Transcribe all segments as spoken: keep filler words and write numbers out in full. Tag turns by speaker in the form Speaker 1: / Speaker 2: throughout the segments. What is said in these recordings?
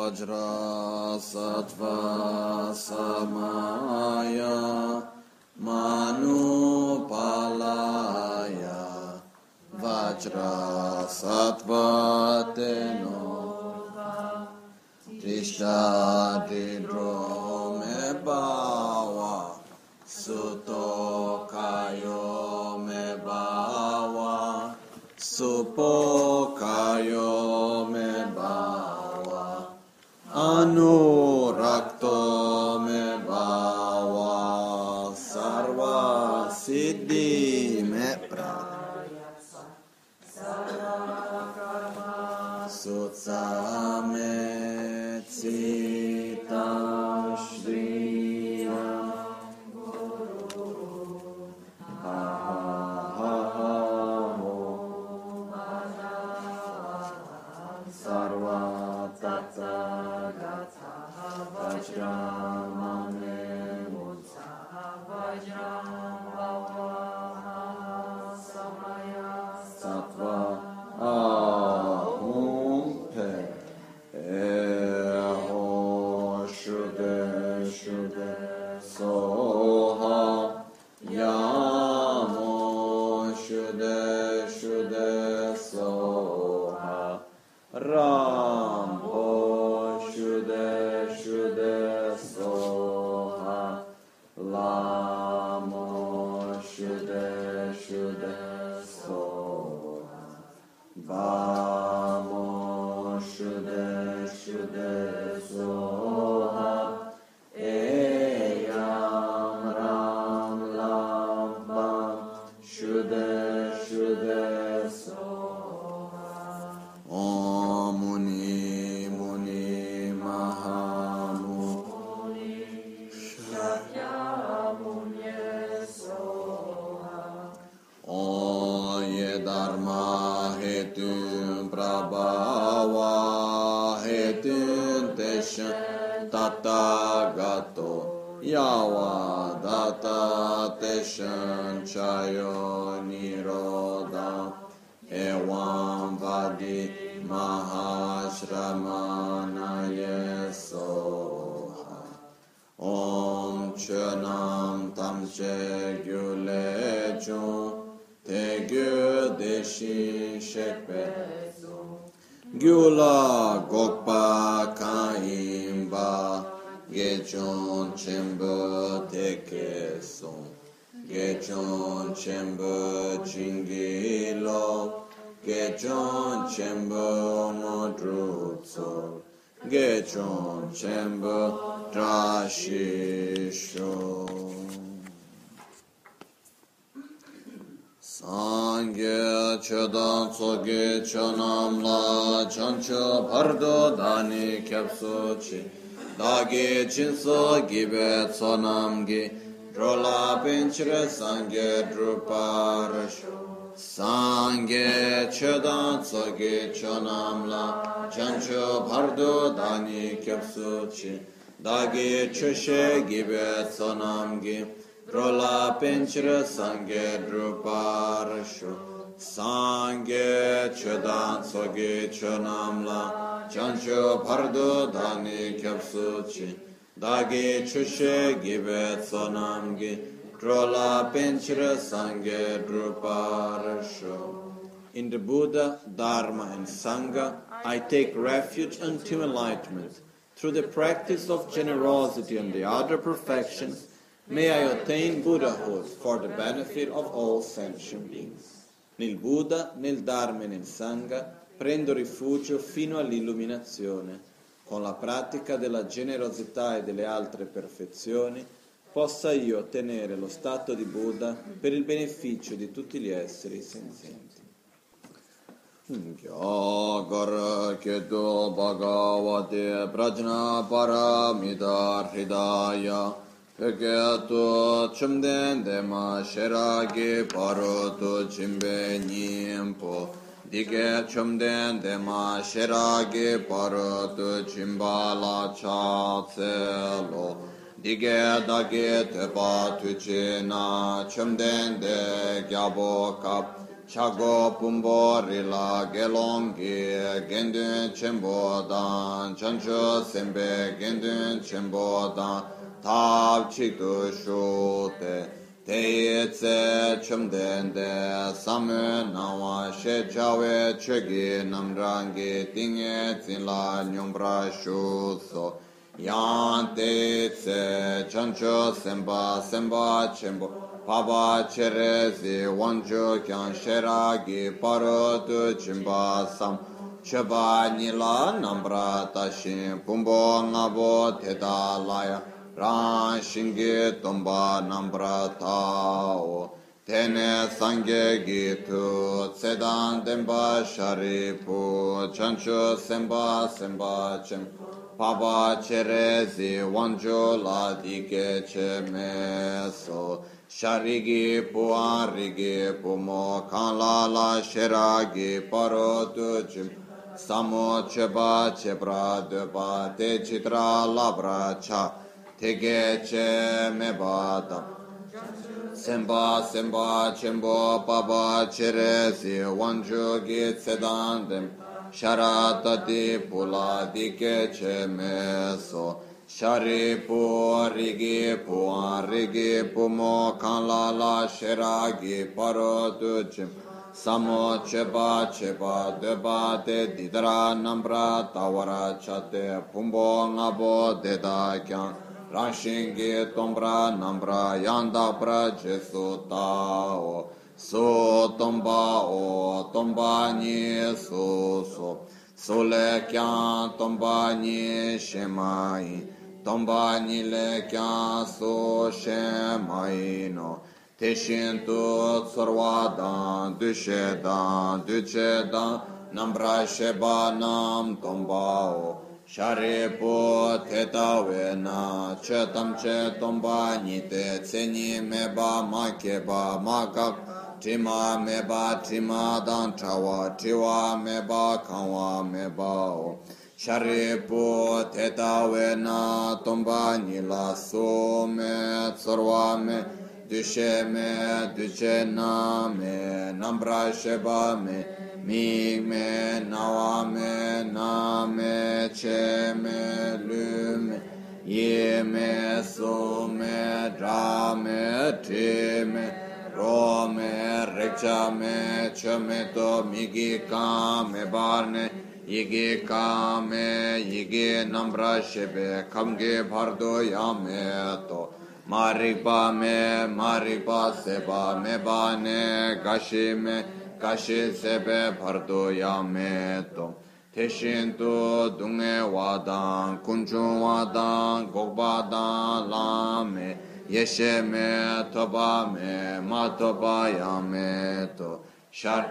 Speaker 1: Vajra Sattva Samaya Manupalaya Vajra Sattva Teno Trishta Didro Me Bawa Suto Kayo Me Bawa Supo Kayo Me Bawa Anurakto Me Bawa Sarva Siddhi Me Prayasa Sarva Sutsa Me Tsitam Shri Guru Ha Ha Ha Sarva Tata Gata Vajramane Mutsa Vajram Bhava Samaya Sattva Ahum Pe Eho Shude Shude Soha Yamo Shude Shude Soha Rambo Shude Shude Soha Lamo Shude Shude Soha Vamo Shude Shude Soha Eyam Ram Lam Bam Shude Shude Soha Om Muni Muni Mahamuni Shakyamunye Soha Oye Dharma Hetun Prabhava Hetun Teshan Tathagato Yava Data Teshan Chayo Niroda Evam Vadi Mahashramana Soha Om Chönam Tamche Gyule Chun Te Gyu Deshin Shekpe Gyula Gokpa Kaimba Gechon Chemba Teke Son Gechon Chemba Chingilo Gechon Chemba Modrutso Gechon Chemba Drashisho Sangye Chodan Tsoge Chonam La Chancho Pardo Dani Kyapsochi Dagi Chinso Gibe Tsonamgi Drola Pinchre Sangye Druparasho Sangye Chodan Tsoge Chonam La Chancho Pardo Dani Kyapsochi Dagi Choshe Gibe Tsonamgi Drola Pinchre Sangye Druparasho Sangye Chodan Tsoge Chonam La Chancho Pardo Dani Kyapsuchi Dagi Chushe Gibe Tsonamgi Drola Pinchre Sangye Druparasho. In the Buddha, Dharma and Sangha, I take refuge until enlightenment. Through the practice of generosity and the other perfections, may I attain Buddhahood for the benefit of all sentient beings. Nel Buddha, nel Dharma e nel Sangha prendo rifugio fino all'illuminazione. Con la pratica della generosità e delle altre perfezioni possa io ottenere lo stato di Buddha per il beneficio di tutti gli esseri senzienti. Gyāgara Ketu Bhagavate Prajna Paramita Hridaya Peketu Chumden Dema Sheragi Parotu Chimbe Nyimpo Dike Chumden Dema Sheragi Parotu Chimbala Chatselo Dike Dake Tepa Tuchina Chumden De Gyabo Kap chago pumbo rila gelongi gendun chenpo dan chancho sembe gendun chenpo dan tab chikdu shute te tse chumden de samu nawa she chawe chegi namrangi tinge zinla nyumbra shu so yan te tse chancho semba semba chenpo paba cherezi wanjo kyan sheragi paro tu chimba sam cheba nila nambra tashin pumbo ngabo teta laya ran shingi tomba nambra tao tene sangye gitu tsedan demba sharipu chancho semba semba chem paba cherezi wanjo la dike che meso sharigi puarigi pumo kanla la sheragi parotu chim samo cheba chebra deba te chitra labra cha tege che mebata semba semba chembo paba cheresi wanju gi sedandem sharatati pula dike che meso shari pu rigi pu rigi pumo kanla la sheragi parotu chim samo cheba cheba deba te didra nambra tawara chate pumbo ngabo deda kyan rashingi tombra nambra yanda pra jesu tao so tomba o tomba ni so so sole kyan tomba ni shemai tomba ni le kyan so shemai no teshin tu sarvadan dushedan duchedan nambra sheba nam tomba o sharipo teta vena chetam che tomba nite tseni meba makeba makak tima meba tima dan chawa tiwa meba kanwa meba o sharipo teta vena tomba nila so me tsarwa me dushe me duche na me nambra sheba me mi me nawa me na me che me lu me ye me so me dra me ti me ro me rekcha me che me to migi ka me barne yigi ka me yigi nambra shebe kamge bhardo ya me to marikpa me marikpa seba me ba ne gashi me kashi sebe bhardo yameto teshin tu dunge wadan kunchun wadan gokbadan lame yeshe me toba me matoba yameto shar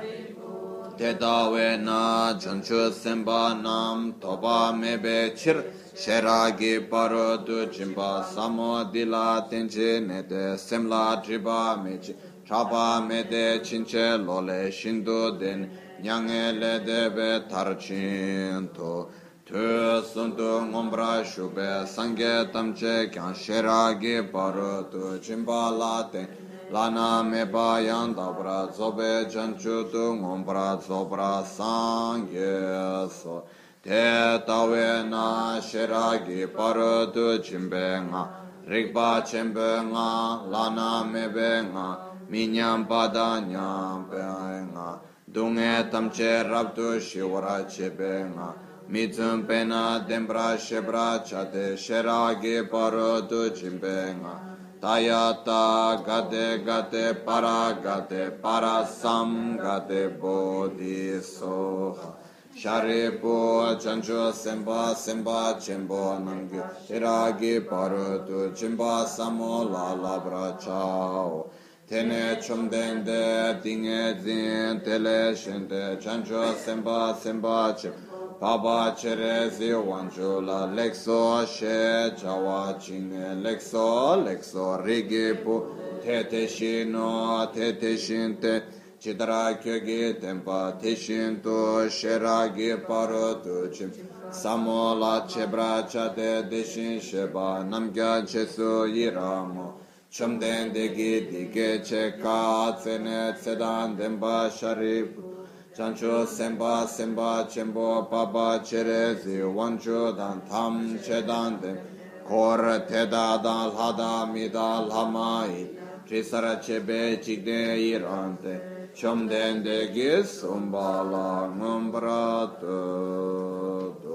Speaker 1: tetawe na chanchu semba nam toba mebe chir sheragi parodu chimba samo dila tenche nete semla triba mechi Chapa mede cince lole shindu den nyange le debe tarcinto tu suntu ngombra shube sange tamche kyan sheragi parutu chimba late lana meba yandabra zobe janchu tu ngombra zobra sange so te tawe na sheragi parutu chimbe nga rikpa chimbe nga lana mebe nga minyam padanyam penga dunge tamche rabdu shivara chepenga mitsum pena dembra shebra chate sheragi parodu chimpenga tayata gate gate para gate para sam gate bodhi soha sharipo chancho semba semba chembo namgyu sheragi parodu chimba samo la labra chao tene chumden de dinge zin tele shente chancho semba semba che baba cherezi wancho la lexo she chawa chine lexo lexo rigipu tete shino tete shinte chidra kyogi tempa teshinto sheragi parotu chim samola chebra chate deshin sheba namgya chesu yiramo Chomden degi dige che ka tsene tsedan denpa sharip chancho sempa sempa chenpo papa chere zi wancho dan tam chedan den kor teda dan lhada mida lhamai trisara chebe chigde irante chomden degi sumbala ngumbra do.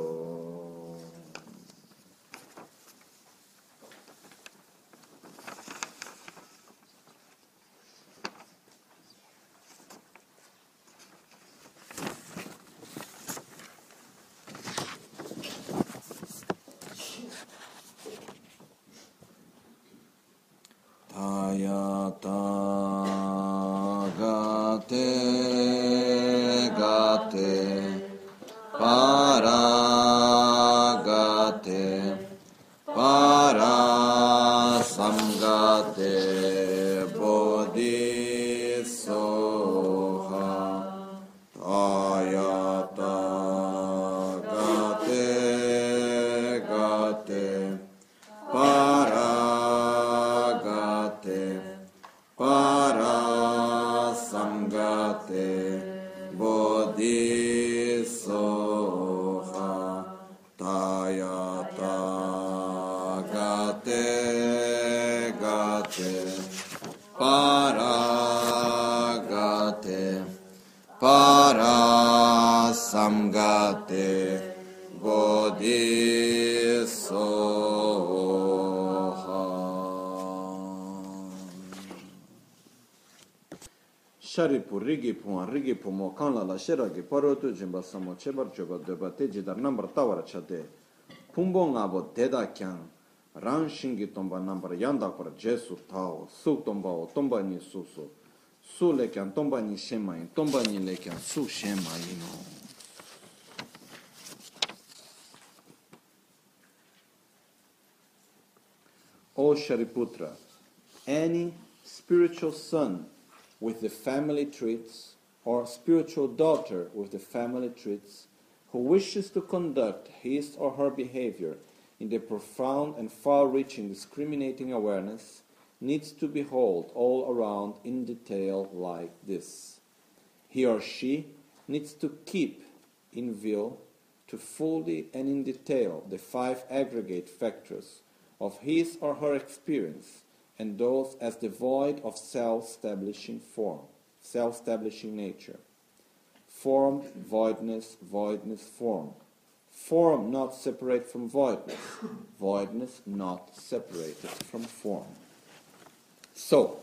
Speaker 1: Sharipu rigi puan rigi pumo kanla la shiragi parotu jimba samo chebar choba deba teji dar nambar tawara chade pumbo ngabo deda kyang rang shingi tomba nambar yanda kora jesu tao su tomba o tomba ni su su su le kyang tomba ni shema in tomba ni le kyang su shema ino. O Shariputra, any spiritual son with the family traits, or spiritual daughter with the family traits, who wishes to conduct his or her behavior in the profound and far-reaching discriminating awareness, needs to behold all around in detail like this. He or she needs to keep in view to fully and in detail the five aggregate factors of his or her experience, and those as devoid of self-establishing form, self-establishing nature. Form, voidness, voidness, form. Form not separate from voidness, voidness not separated from form. So,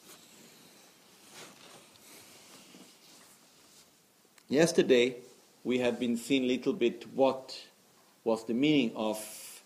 Speaker 1: yesterday we had been seeing a little bit what was the meaning of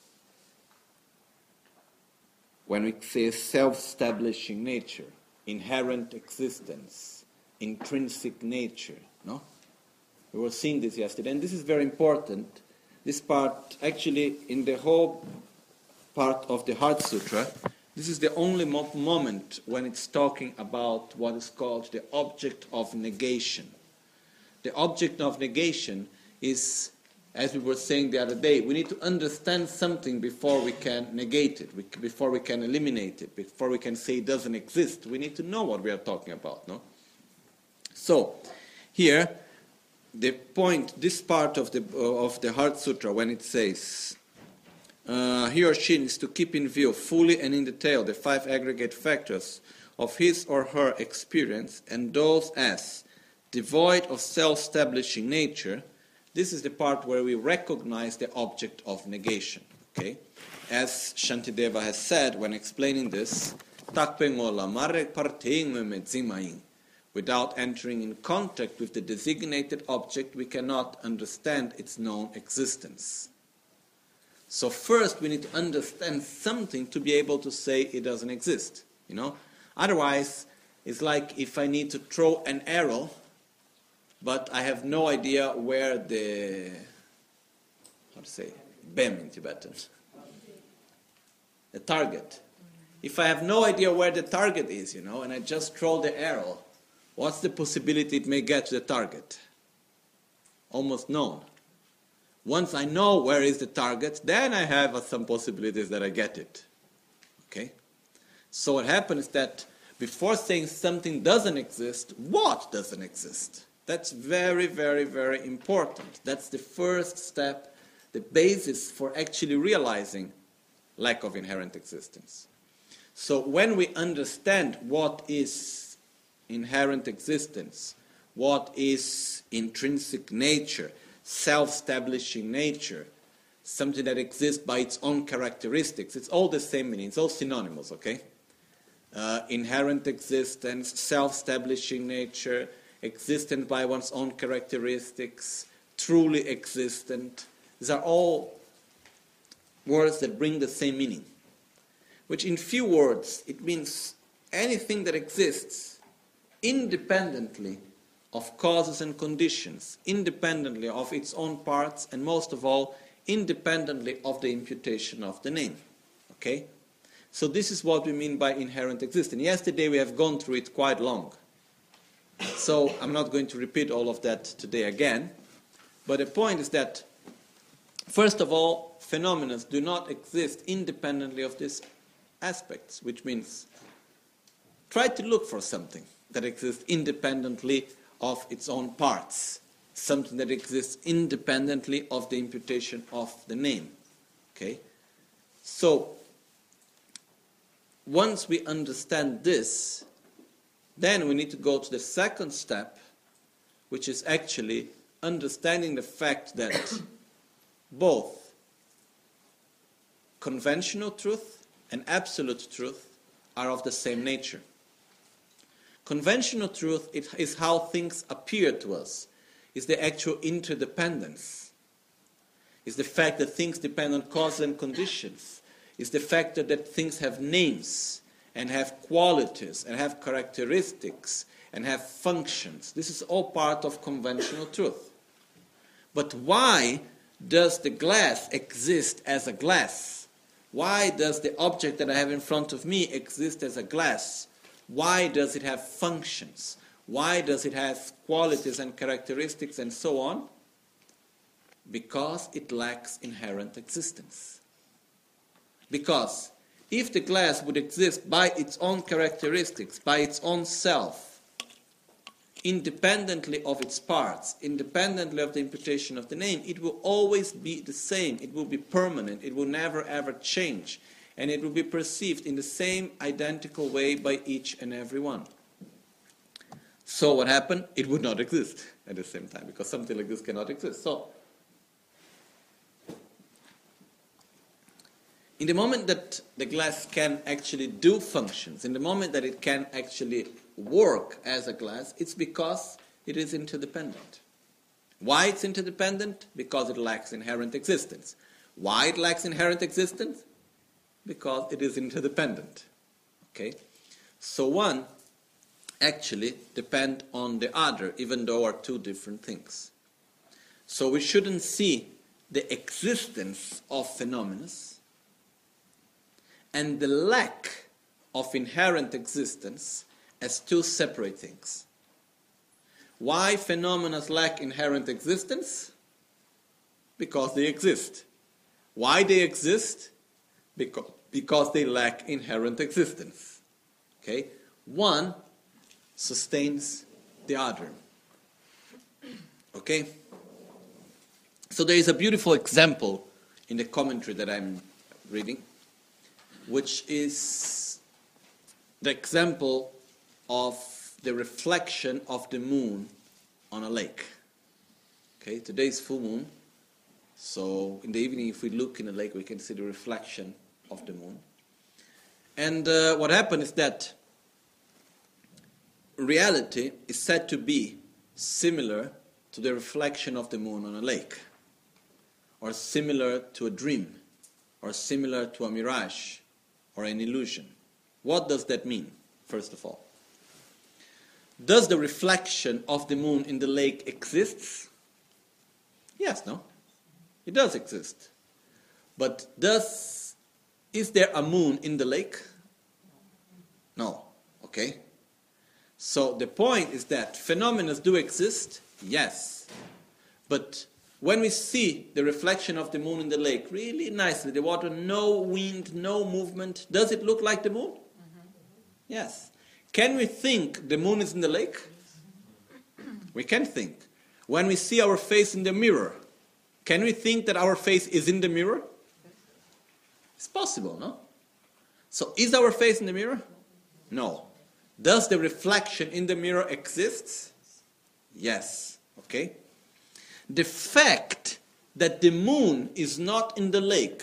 Speaker 1: when we say self-establishing nature, inherent existence, intrinsic nature, no? We were seeing this yesterday, and this is very important. This part, actually, in the whole part of the Heart Sutra, this is the only mo- moment when it's talking about what is called the object of negation. The object of negation is, as we were saying the other day, we need to understand something before we can negate it, we, before we can eliminate it, before we can say it doesn't exist. We need to know what we are talking about, no? So, here, the point, this part of the of the Heart Sutra, when it says, uh, he or she needs to keep in view fully and in detail the five aggregate factors of his or her experience, and those as devoid of self-establishing nature. This is the part where we recognize the object of negation. Okay? As Shantideva has said when explaining this, without entering in contact with the designated object, we cannot understand its known existence. So first we need to understand something to be able to say it doesn't exist. You know? Otherwise, it's like if I need to throw an arrow, but I have no idea where the, how to say, bem in Tibetan, the target. If I have no idea where the target is, you know, and I just throw the arrow, what's the possibility it may get to the target? Almost none. Once I know where is the target, then I have uh, some possibilities that I get it. Okay?
Speaker 2: So what happens is that before saying something doesn't exist, what doesn't exist? That's very, very, very important. That's the first step, the basis for actually realizing lack of inherent existence. So when we understand what is inherent existence, what is intrinsic nature, self-establishing nature, something that exists by its own characteristics, it's all the same meaning, it's all synonymous, okay? Uh, inherent existence, self-establishing nature, existent by one's own characteristics, truly existent. These are all words that bring the same meaning, which in few words, it means anything that exists independently of causes and conditions, independently of its own parts, and most of all, independently of the imputation of the name. Okay? So this is what we mean by inherent existence. Yesterday we have gone through it quite long. So I'm not going to repeat all of that today again. But the point is that, first of all, phenomena do not exist independently of these aspects, which means try to look for something that exists independently of its own parts, something that exists independently of the imputation of the name. Okay? So, once we understand this, then we need to go to the second step, which is actually understanding the fact that both conventional truth and absolute truth are of the same nature. Conventional truth is how things appear to us, is the actual interdependence, is the fact that things depend on causes and conditions, is the fact that things have names and have qualities and have characteristics and have functions. This is all part of conventional truth. But why does the glass exist as a glass? Why does the object that I have in front of me exist as a glass? Why does it have functions? Why does it have qualities and characteristics and so on? Because it lacks inherent existence. Because if the glass would exist by its own characteristics, by its own self, independently of its parts, independently of the imputation of the name, it will always be the same. It will be permanent. It will never ever change. And it will be perceived in the same identical way by each and every one. So what happened? It would not exist at the same time, because something like this cannot exist. So, in the moment that the glass can actually do functions, in the moment that it can actually work as a glass, it's because it is interdependent. Why it's interdependent? Because it lacks inherent existence. Why it lacks inherent existence? Because it is interdependent. Okay? So one actually depend on the other, even though are two different things. So we shouldn't see the existence of phenomena and the lack of inherent existence as two separate things. Why phenomena lack inherent existence? Because they exist. Why they exist? Because, because they lack inherent existence. Okay? One sustains the other. Okay? So there is a beautiful example in the commentary that I'm reading, which is the example of the reflection of the moon on a lake. Okay, today is full moon, so in the evening if we look in the lake we can see the reflection of the moon. And uh, what happened is that reality is said to be similar to the reflection of the moon on a lake, or similar to a dream, or similar to a mirage, or an illusion. What does that mean, first of all? Does the reflection of the moon in the lake exist? Yes, no? It does exist. But does, is there a moon in the lake? No. Okay? So the point is that phenomena do exist, yes. But when we see the reflection of the moon in the lake, really nicely, the water, no wind, no movement, does it look like the moon? Mm-hmm. Yes. Can we think the moon is in the lake? We can think. When we see our face in the mirror, can we think that our face is in the mirror? It's possible, no? So is our face in the mirror? No. Does the reflection in the mirror exist? Yes. Okay? The fact that the moon is not in the lake,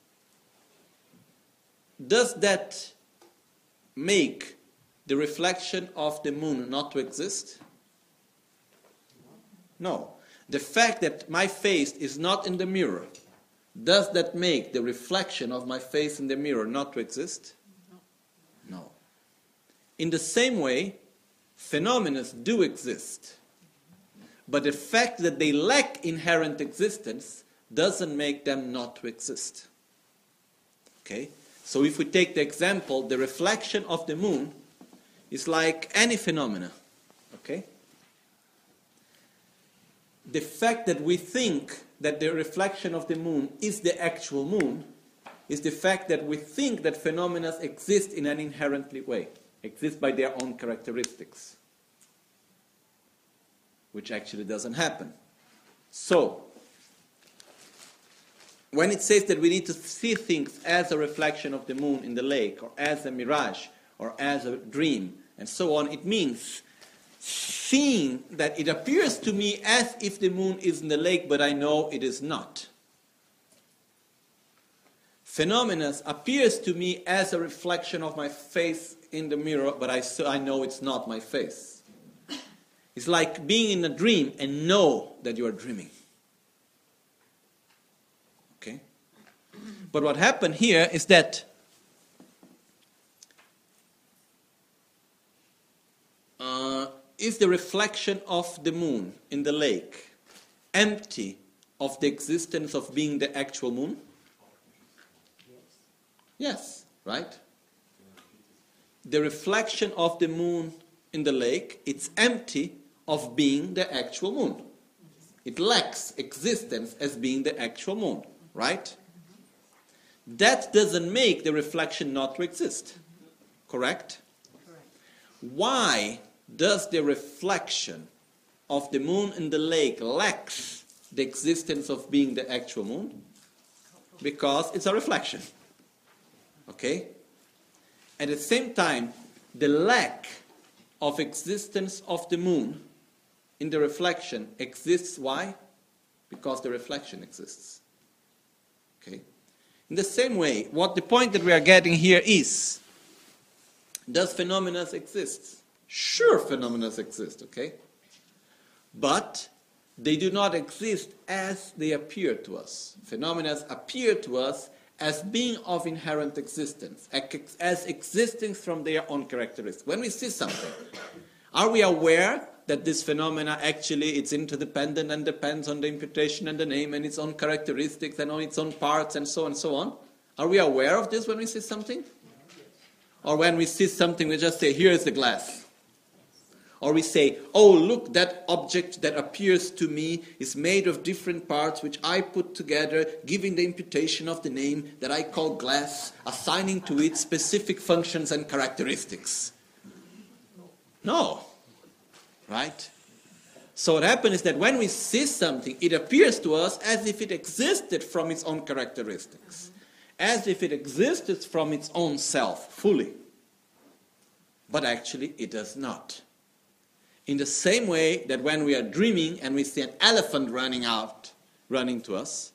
Speaker 2: does that make the reflection of the moon not to exist? No. The fact that my face is not in the mirror, does that make the reflection of my face in the mirror not to exist? No. No. In the same way, phenomena do exist. But the fact that they lack inherent existence doesn't make them not to exist. Okay? So if we take the example, the reflection of the moon is like any phenomena. Okay? The fact that we think that the reflection of the moon is the actual moon is the fact that we think that phenomena exist in an inherently way, exist by their own characteristics, which actually doesn't happen. So, when it says that we need to see things as a reflection of the moon in the lake, or as a mirage, or as a dream, and so on, it means seeing that it appears to me as if the moon is in the lake, but I know it is not. Phenomena appears to me as a reflection of my face in the mirror, but I, I know it's not my face. It's like being in a dream and know that you are dreaming. Okay? But what happened here is that uh, is the reflection of the moon in the lake empty of the existence of being the actual moon? Yes, right? The reflection of the moon in the lake, it's empty of being the actual moon. It lacks existence as being the actual moon, right? That doesn't make the reflection not to exist, correct? Correct. Why does the reflection of the moon in the lake lacks the existence of being the actual moon? Because it's a reflection. Okay? At the same time, the lack of existence of the moon in the reflection exists. Why? Because the reflection exists. Okay? In the same way, what the point that we are getting here is, does phenomena exist? Sure, phenomena exist, okay? But they do not exist as they appear to us. Phenomena appear to us as being of inherent existence, as existing from their own characteristics. When we see something, are we aware that this phenomena actually it's interdependent and depends on the imputation and the name and its own characteristics and on its own parts and so on and so on? Are we aware of this when we see something? Or when we see something, we just say, here is the glass. Or we say, oh, look, that object that appears to me is made of different parts which I put together, giving the imputation of the name that I call glass, assigning to it specific functions and characteristics. No. Right? So what happens is that when we see something, it appears to us as if it existed from its own characteristics, as if it existed from its own self, fully. But actually, it does not. In the same way that when we are dreaming and we see an elephant running out, running to us,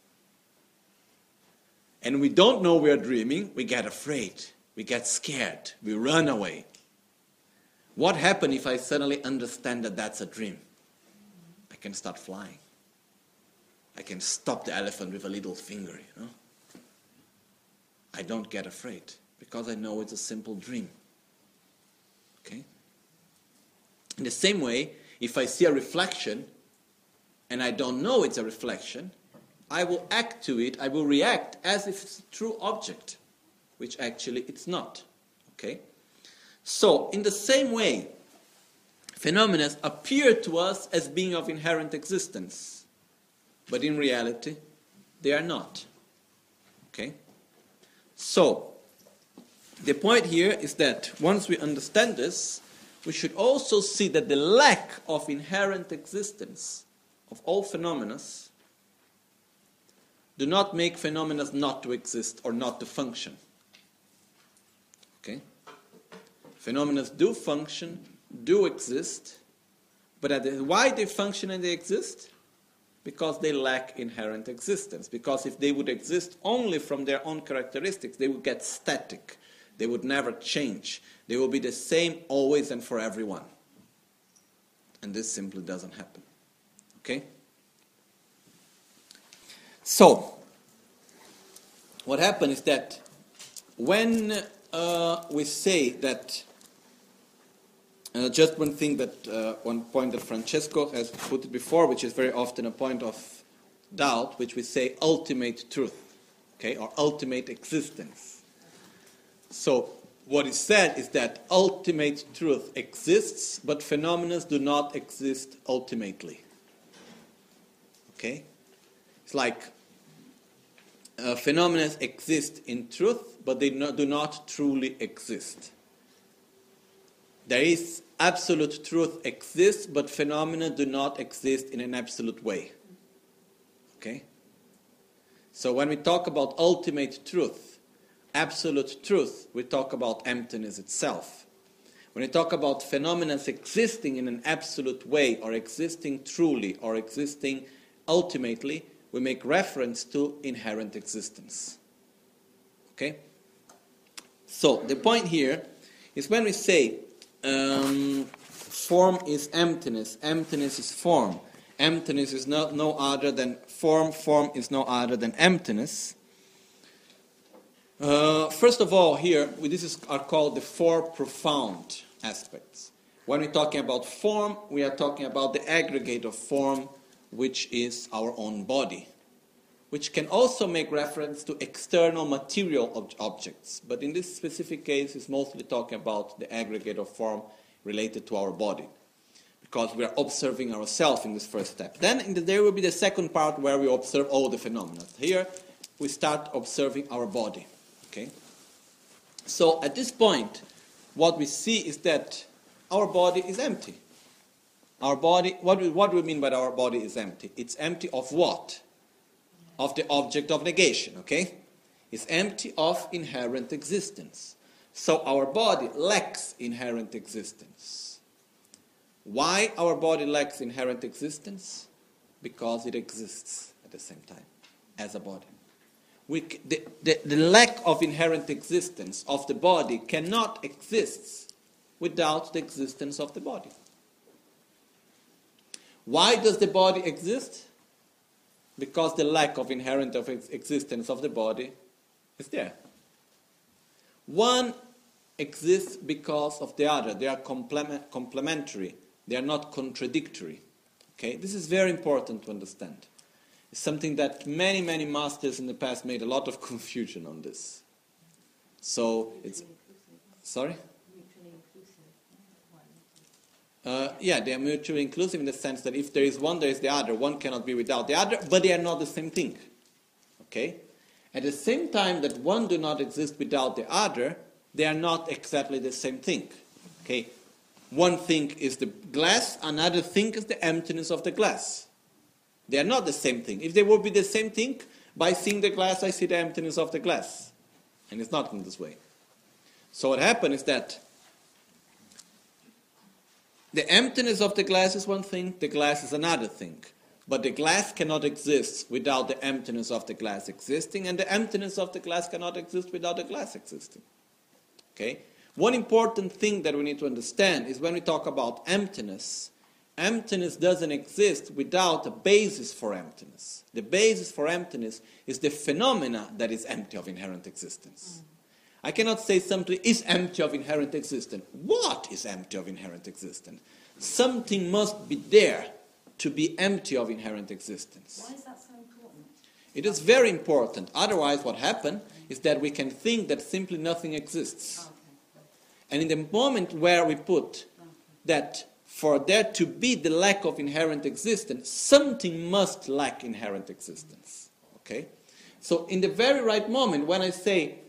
Speaker 2: and we don't know we are dreaming, we get afraid, we get scared, we run away. What happens if I suddenly understand that that's a dream? I can start flying. I can stop the elephant with a little finger, you know. I don't get afraid because I know it's a simple dream. Okay? In the same way, if I see a reflection and I don't know it's a reflection, I will act to it, I will react as if it's a true object, which actually it's not. Okay? So, in the same way, phenomena appear to us as being of inherent existence, but in reality, they are not. Okay? So, the point here is that once we understand this, we should also see that the lack of inherent existence of all phenomena do not make phenomena not to exist or not to function. Okay? Phenomena do function, do exist, but at the, why they function and they exist? Because they lack inherent existence. Because if they would exist only from their own characteristics, they would get static. They would never change. They will be the same always and for everyone. And this simply doesn't happen. Okay? So, what happens is that when uh, we say that, uh, just one thing that, uh, one point that Francesco has put it before, which is very often a point of doubt, which we say ultimate truth, okay, or ultimate existence. So, what is said is that ultimate truth exists, but phenomena do not exist ultimately. Okay? It's like uh, phenomena exist in truth, but they no, do not truly exist. There is absolute truth exists, but phenomena do not exist in an absolute way. Okay? So when we talk about ultimate truth, absolute truth, we talk about emptiness itself. When we talk about phenomena existing in an absolute way, or existing truly, or existing ultimately, we make reference to inherent existence. Okay? So, the point here is when we say um, form is emptiness, emptiness is form, emptiness is no, no other than form, form is no other than emptiness. Uh, first of all, here, we, this is, are called the four profound aspects. When we're talking about form, we are talking about the aggregate of form, which is our own body, which can also make reference to external material ob- objects. But in this specific case, it's mostly talking about the aggregate of form related to our body, because we are observing ourselves in this first step. Then in the, there will be the second part where we observe all the phenomena. Here, we start observing our body. Okay? So at this point, what we see is that our body is empty. Our body, what we, what do we mean by our body is empty? It's empty of what? Of the object of negation, okay? It's empty of inherent existence. So our body lacks inherent existence. Why our body lacks inherent existence? Because it exists at the same time as a body. We, the, the, the lack of inherent existence of the body cannot exist without the existence of the body. Why does the body exist? Because the lack of inherent of ex- existence of the body is there. One exists because of the other. They are complement, complementary. They are not contradictory. Okay? This is very important to understand. It's something that many, many masters in the past made a lot of confusion on this. So it's... Sorry? Uh, yeah, they are mutually inclusive in the sense that if there is one, there is the other. One cannot be without the other, but they are not the same thing. Okay? At the same time that one do not exist without the other, they are not exactly the same thing. Okay? One thing is the glass, another thing is the emptiness of the glass. They are not the same thing. If they would be the same thing, by seeing the glass, I see the emptiness of the glass. And it's not in this way. So what happened is that the emptiness of the glass is one thing, the glass is another thing. But the glass cannot exist without the emptiness of the glass existing, and the emptiness of the glass cannot exist without the glass existing. Okay? One important thing that we need to understand is when we talk about emptiness, emptiness doesn't exist without a basis for emptiness. The basis for emptiness is the phenomena that is empty of inherent existence. I cannot say something is empty of inherent existence. What is empty of inherent existence? Something must be there to be empty of inherent existence.
Speaker 3: Why is that so important?
Speaker 2: It is very important. Otherwise, what happens is that we can think that simply nothing exists.
Speaker 3: Okay.
Speaker 2: And in the moment where we put that for there to be the lack of inherent existence, something must lack inherent existence. Okay? So in the very right moment, when I say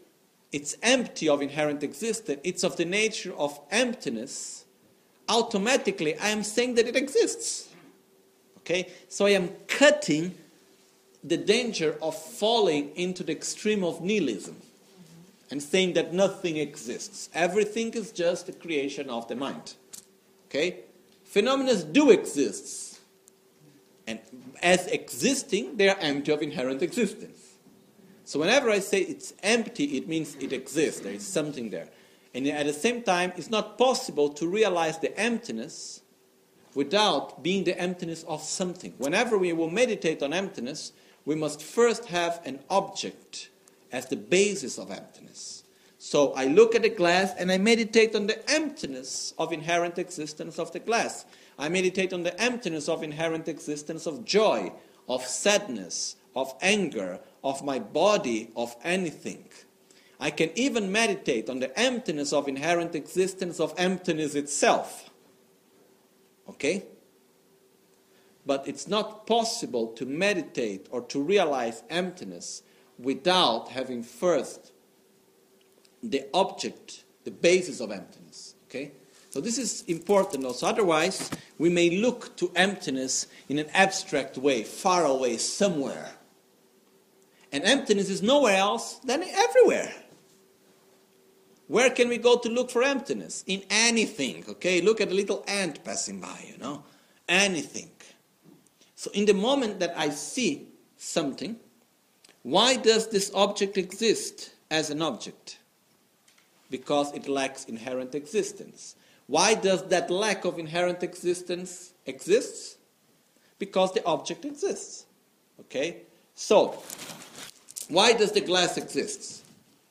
Speaker 2: it's empty of inherent existence, it's of the nature of emptiness, automatically I am saying that it exists. Okay? So I am cutting the danger of falling into the extreme of nihilism and saying that nothing exists. Everything is just a creation of the mind. Okay? Phenomena do exist. And as existing, they are empty of inherent existence. So whenever I say it's empty, it means it exists. There is something there. And at the same time, it's not possible to realize the emptiness without being the emptiness of something. Whenever we will meditate on emptiness, we must first have an object as the basis of emptiness. So I look at the glass and I meditate on the emptiness of inherent existence of the glass. I meditate on the emptiness of inherent existence of joy, of sadness, of anger, of my body, of anything. I can even meditate on the emptiness of inherent existence of emptiness itself. Okay? But it's not possible to meditate or to realize emptiness without having first the object, the basis of emptiness. Okay? So this is important also. Otherwise, we may look to emptiness in an abstract way, far away, somewhere. And emptiness is nowhere else than everywhere. Where can we go to look for emptiness? In anything, okay? Look at a little ant passing by, you know? Anything. So in the moment that I see something, why does this object exist as an object? Because it lacks inherent existence. Why does that lack of inherent existence exist? Because the object exists. Okay? So, why does the glass exist?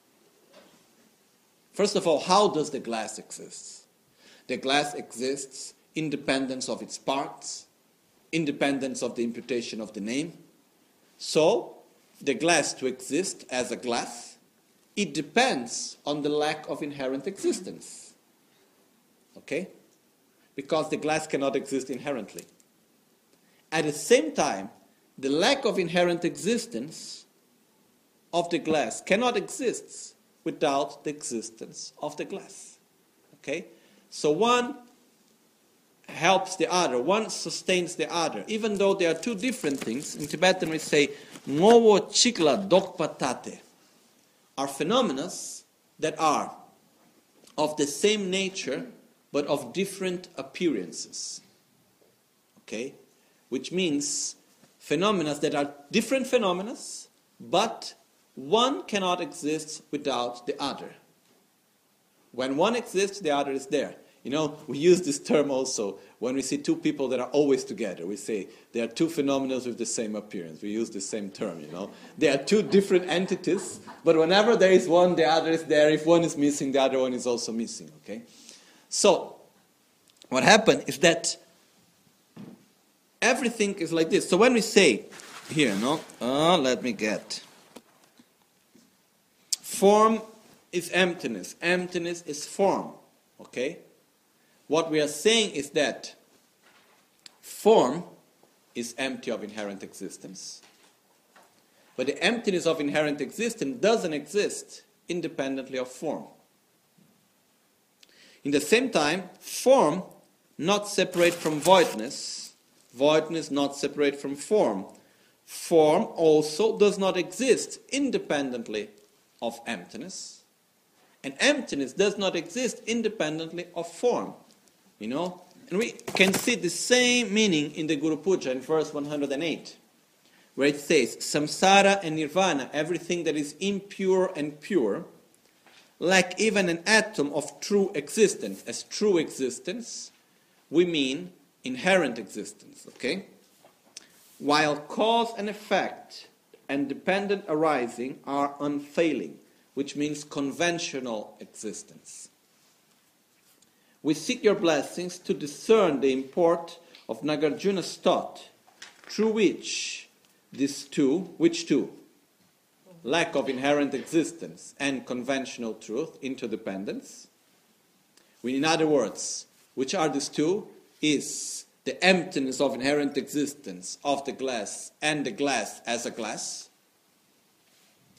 Speaker 2: First of all, how does the glass exist? The glass exists independent of its parts, independent of the imputation of the name. So, the glass to exist as a glass, it depends on the lack of inherent existence. Okay? Because the glass cannot exist inherently. At the same time, the lack of inherent existence of the glass cannot exist without the existence of the glass. Okay? So one helps the other, one sustains the other, even though they are two different things. In Tibetan we say, Ngowo chikla dokpatate, are phenomena that are of the same nature but of different appearances. Okay? Which means phenomena that are different phenomena, but one cannot exist without the other. When one exists, the other is there. You know, we use this term also when we see two people that are always together. We say they are two phenomena with the same appearance. We use the same term, you know. They are two different entities, but whenever there is one, the other is there. If one is missing, the other one is also missing, okay? So, what happened is that everything is like this. So when we say, here, no? Uh, let me get. Form is emptiness. Emptiness is form, okay? What we are saying is that form is empty of inherent existence. But the emptiness of inherent existence doesn't exist independently of form. In the same time, form not separate from voidness, voidness not separate from form. Form also does not exist independently of emptiness. And emptiness does not exist independently of form. You know, and we can see the same meaning in the Guru Puja in verse one hundred eight, where it says, Samsara and Nirvana, everything that is impure and pure, lack even an atom of true existence. As true existence, we mean inherent existence, okay? While cause and effect and dependent arising are unfailing, which means conventional existence. We seek your blessings to discern the import of Nagarjuna's thought, through which these two, which two? Lack of inherent existence and conventional truth, interdependence. We, in other words, which are these two? Is the emptiness of inherent existence of the glass and the glass as a glass.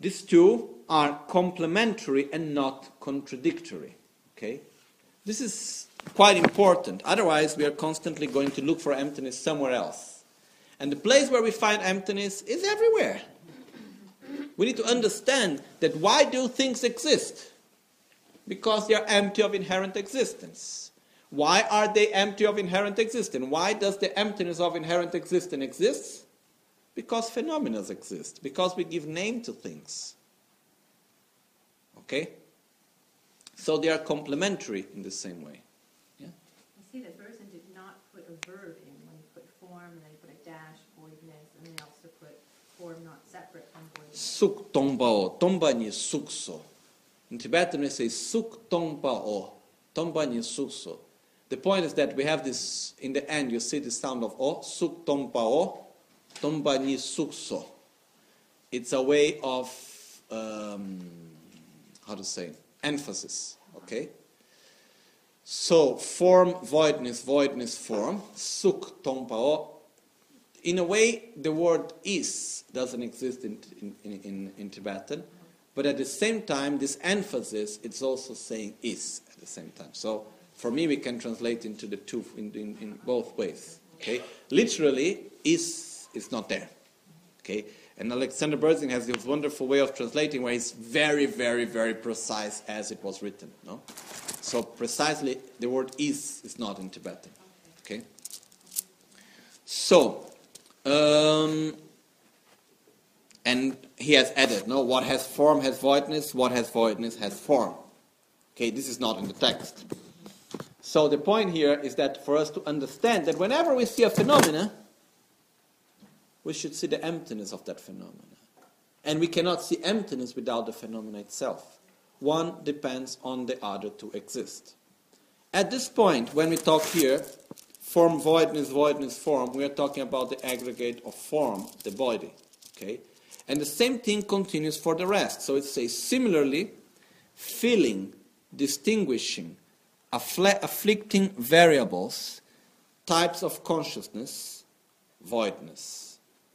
Speaker 2: these two are complementary and not contradictory. Okay? This is quite important. Otherwise, we are constantly going to look for emptiness somewhere else. And the place where we find emptiness is everywhere. We need to understand that why do things exist? Because they are empty of inherent existence. Why are they empty of inherent existence? Why does the emptiness of inherent existence exist? Because phenomena exist. Because we give name to things. Okay? So they are complementary in the same way. Yeah?
Speaker 3: I see that Bergson did not put a verb in when he put form, and then he put a dash, voidness, and then also put form not separate from voidness.
Speaker 2: Suk tongbao, tomba ni sukso. In Tibetan we say suk tongbao, tomba ni sukso. The point is that we have this, in the end you see the sound of o, suk tongbao, tomba ni sukso. It's a way of, um, how to say, emphasis, okay? So, form, voidness, voidness, form, suk tongpao. In a way, the word is doesn't exist in, in, in, in Tibetan, but at the same time, this emphasis, it's also saying is at the same time. So, for me, we can translate into the two, in, in, in both ways, okay? Literally, is is not there, okay? And Alexander Berzin has this wonderful way of translating where he's very, very, very precise as it was written. No? So precisely, the word is is not in Tibetan. Okay? So, um, and he has added, no, what has form has voidness, what has voidness has form. Okay, this is not in the text. So the point here is that for us to understand that whenever we see a phenomena, we should see the emptiness of that phenomena. And we cannot see emptiness without the phenomena itself. One depends on the other to exist. At this point, when we talk here, form, voidness, voidness, form, we are talking about the aggregate of form, the body. Okay? And the same thing continues for the rest. So it says, similarly, feeling, distinguishing, affl- afflicting variables, types of consciousness, voidness.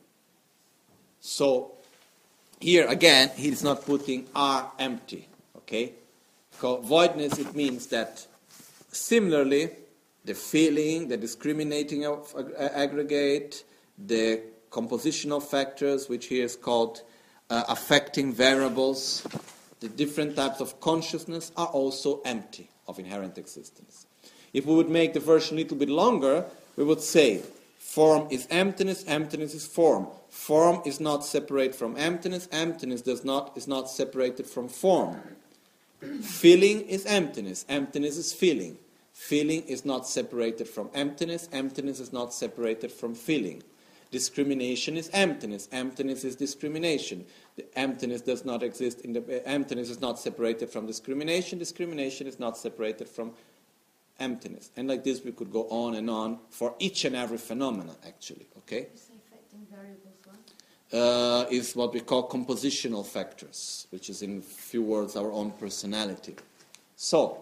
Speaker 2: So, here again, he is not putting are empty, okay? Because voidness, it means that similarly, the feeling, the discriminating of aggregate, the compositional factors, which here is called uh, affecting variables, the different types of consciousness are also empty of inherent existence. If we would make the version a little bit longer, we would say, form is emptiness, emptiness is form. Form is not separate from emptiness, emptiness does not is not separated from form. Feeling is emptiness, emptiness is feeling. Feeling is not separated from emptiness, emptiness is not separated from feeling. Discrimination is emptiness, emptiness is discrimination. The emptiness does not exist in the uh, emptiness is not separated from discrimination, discrimination is not separated from emptiness. And like this we could go on and on for each and every phenomena, actually, okay?
Speaker 3: Did you say affecting variables what?
Speaker 2: Uh, is what we call compositional factors, which is in few words our own personality. So,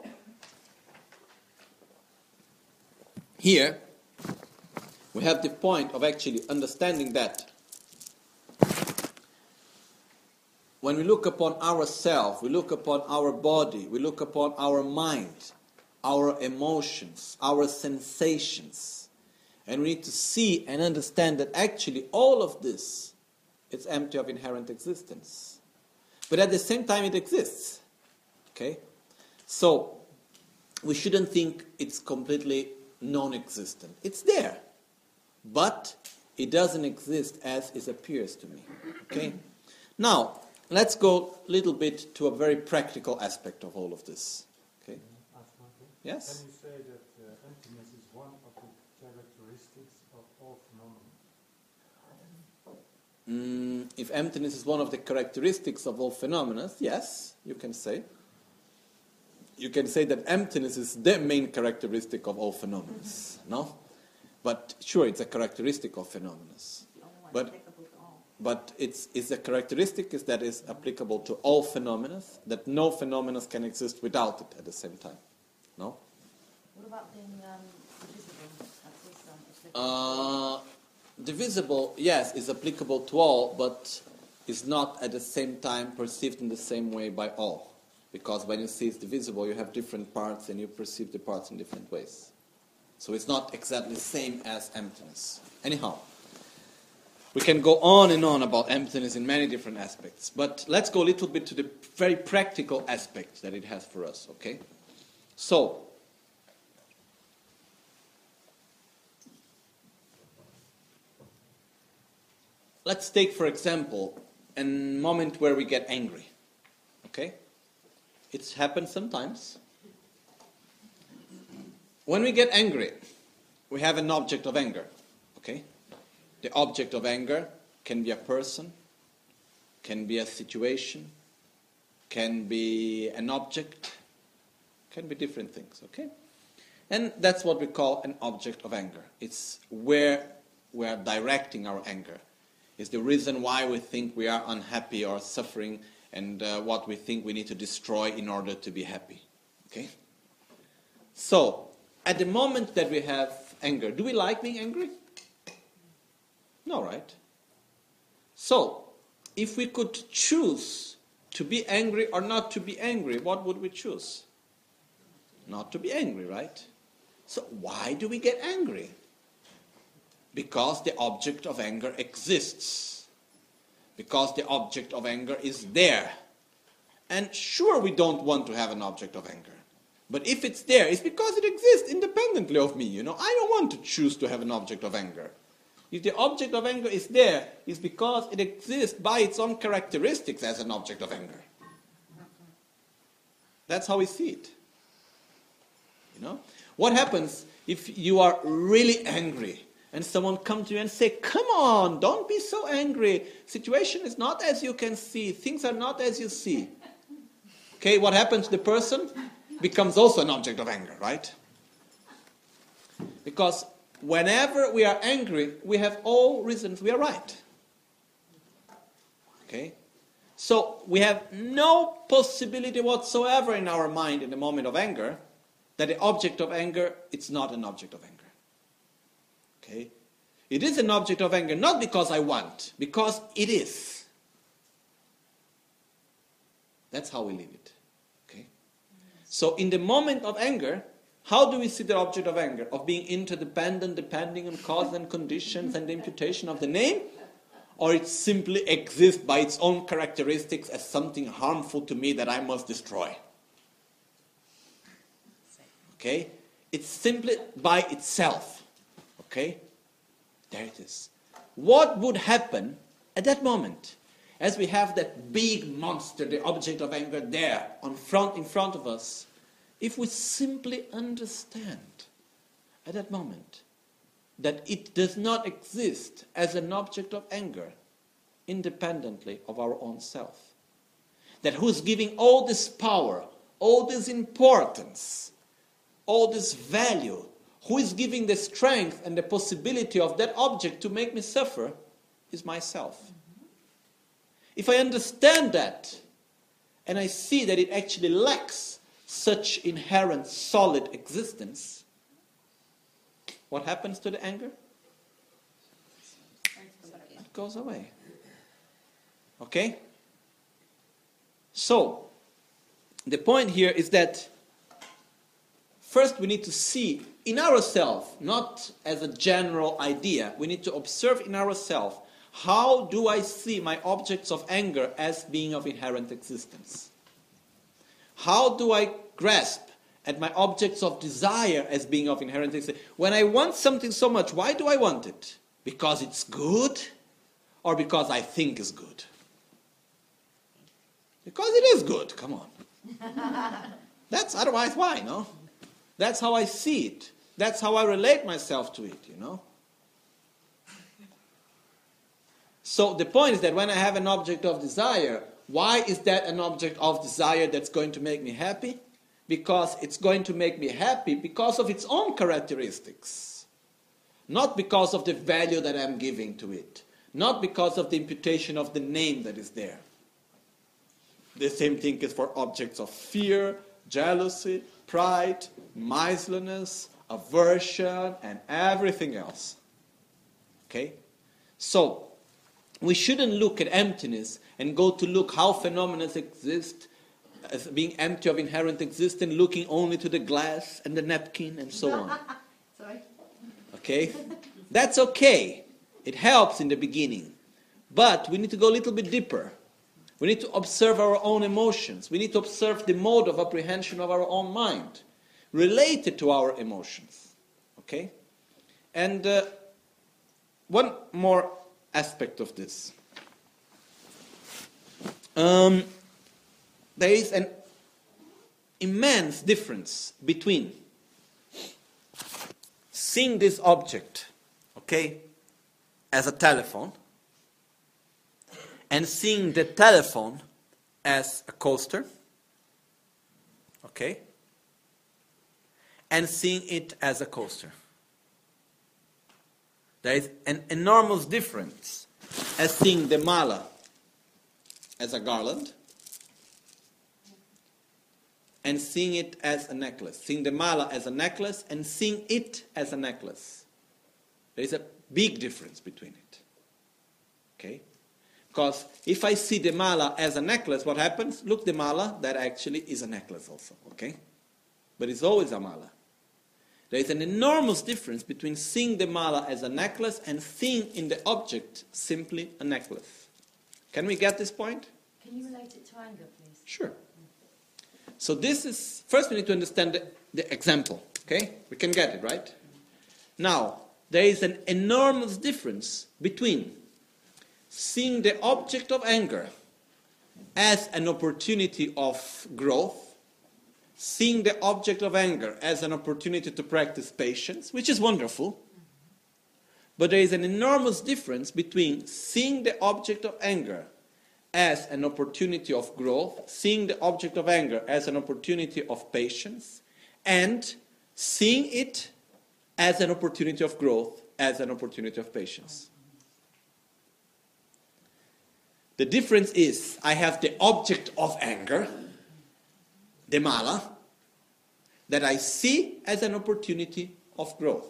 Speaker 2: here we have the point of actually understanding that when we look upon ourselves, we look upon our body, we look upon our mind, our emotions, our sensations. And we need to see and understand that actually all of this is empty of inherent existence. But at the same time it exists. Okay? So, we shouldn't think it's completely non-existent. It's there. But it doesn't exist as it appears to me. Okay? Now, let's go a little bit to a very practical aspect of all of this. Okay? Yes?
Speaker 4: Can you say that uh, emptiness is one of the characteristics of all phenomena?
Speaker 2: Mm, if emptiness is one of the characteristics of all phenomena, yes, you can say. You can say that emptiness is the main characteristic of all phenomena, mm-hmm. no? But sure, it's a characteristic of phenomena. But, but it's, it's a characteristic is that is applicable to all phenomena, that no phenomena can exist without it at the same time. No?
Speaker 3: What about being um, divisible?
Speaker 2: Uh, divisible, yes, is applicable to all, but is not at the same time perceived in the same way by all. Because when you see it's divisible, you have different parts and you perceive the parts in different ways. So it's not exactly the same as emptiness. Anyhow, we can go on and on about emptiness in many different aspects. But let's go a little bit to the very practical aspects that it has for us, okay? So, let's take, for example, a moment where we get angry, okay? It happens sometimes. When we get angry, we have an object of anger, okay? The object of anger can be a person, can be a situation, can be an object, can be different things, okay? And that's what we call an object of anger. It's where we are directing our anger. It's the reason why we think we are unhappy or suffering, and uh, what we think we need to destroy in order to be happy, okay? So, at the moment that we have anger, do we like being angry? No, right? So, if we could choose to be angry or not to be angry, what would we choose? Not to be angry, right? So, why do we get angry? Because the object of anger exists. Because the object of anger is there. And sure, we don't want to have an object of anger. But if it's there, it's because it exists independently of me, you know. I don't want to choose to have an object of anger. If the object of anger is there, it's because it exists by its own characteristics as an object of anger. That's how we see it. You know? What happens if you are really angry and someone comes to you and say, come on, don't be so angry. Situation is not as you can see. Things are not as you see. Okay, what happens to the person? Becomes also an object of anger, right? Because whenever we are angry, we have all reasons we are right. Okay? So we have no possibility whatsoever in our mind in the moment of anger that the object of anger, it's not an object of anger. Okay? It is an object of anger not because I want, because it is. That's how we live it. Okay? So in the moment of anger, how do we see the object of anger? Of being interdependent, depending on cause and conditions and the imputation of the name? Or it simply exists by its own characteristics as something harmful to me that I must destroy? Okay? It's simply by itself. Okay? There it is. What would happen at that moment as we have that big monster, the object of anger there on front, in front of us, if we simply understand at that moment that it does not exist as an object of anger independently of our own self? That who's giving all this power, all this importance, all this value, who is giving the strength and the possibility of that object to make me suffer is myself. If I understand that, and I see that it actually lacks such inherent solid existence, what happens to the anger? It goes away. Okay? So, the point here is that first we need to see in ourselves, not as a general idea, we need to observe in ourselves, how do I see my objects of anger as being of inherent existence? How do I grasp at my objects of desire as being of inherent existence? When I want something so much, why do I want it? Because it's good? Or because I think it's good? Because it is good, come on. That's otherwise why, no? That's how I see it. That's how I relate myself to it, you know? So the point is that when I have an object of desire, why is that an object of desire that's going to make me happy? Because it's going to make me happy because of its own characteristics. Not because of the value that I'm giving to it. Not because of the imputation of the name that is there. The same thing is for objects of fear, jealousy, pride, miserliness, aversion, and everything else. Okay? So, we shouldn't look at emptiness and go to look how phenomena exist as being empty of inherent existence, looking only to the glass and the napkin and so on.
Speaker 3: Sorry.
Speaker 2: Okay? That's okay. It helps in the beginning. But we need to go a little bit deeper. We need to observe our own emotions. We need to observe the mode of apprehension of our own mind related to our emotions. Okay? And uh, one more aspect of this. Um, there is an immense difference between seeing this object, okay, as a telephone, and seeing the telephone as a coaster, okay, and seeing it as a coaster. There is an enormous difference as seeing the mala as a garland and seeing it as a necklace. Seeing the mala as a necklace and seeing it as a necklace. There is a big difference between it. Okay? Because if I see the mala as a necklace, what happens? Look, the mala, that actually is a necklace also. Okay? But it's always a mala. There is an enormous difference between seeing the mala as a necklace and seeing in the object simply a necklace. Can we get this point?
Speaker 5: Can you relate it to anger, please?
Speaker 2: Sure. So this is, first we need to understand the, the example, okay? We can get it, right? Now, there is an enormous difference between seeing the object of anger as an opportunity of growth, seeing the object of anger as an opportunity to practice patience, which is wonderful, but there is an enormous difference between seeing the object of anger as an opportunity of growth, seeing the object of anger as an opportunity of patience, and seeing it as an opportunity of growth, as an opportunity of patience. The difference is, I have the object of anger, the mala, that I see as an opportunity of growth.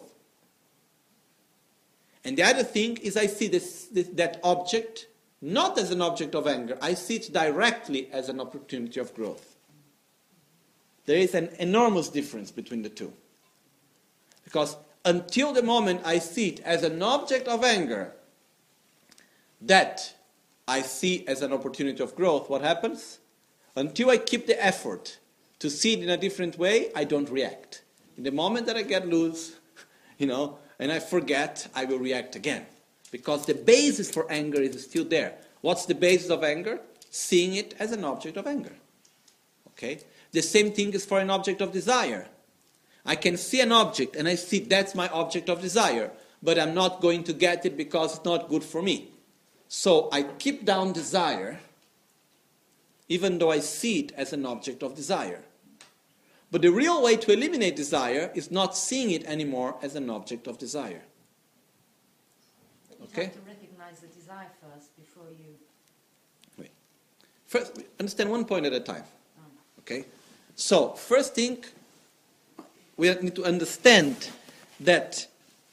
Speaker 2: And the other thing is I see this, this, that object not as an object of anger. I see it directly as an opportunity of growth. There is an enormous difference between the two. Because until the moment I see it as an object of anger, that I see as an opportunity of growth, what happens? Until I keep the effort to see it in a different way, I don't react. In the moment that I get loose, you know, and I forget, I will react again. Because the basis for anger is still there. What's the basis of anger? Seeing it as an object of anger. Okay? The same thing is for an object of desire. I can see an object and I see that's my object of desire, but I'm not going to get it because it's not good for me. So I keep down desire, even though I see it as an object of desire. But the real way to eliminate desire is not seeing it anymore as an object of desire.
Speaker 5: You
Speaker 2: Okay?
Speaker 5: have to recognize the desire first before you...
Speaker 2: Wait. First, understand one point at a time. Okay? So, first thing, we need to understand that